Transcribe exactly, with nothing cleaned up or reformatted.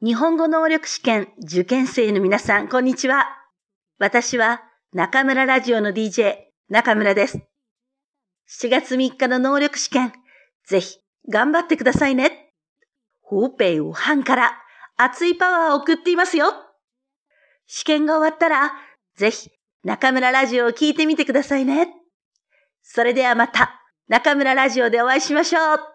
日本語能力試験受験生の皆さん、こんにちは。私は中村ラジオの ディージェー 中村です。しちがつみっかの能力試験、ぜひ頑張ってくださいね。ホーペイウハンから熱いパワーを送っていますよ。試験が終わったら、ぜひ中村ラジオを聞いてみてくださいね。それではまた中村ラジオでお会いしましょう。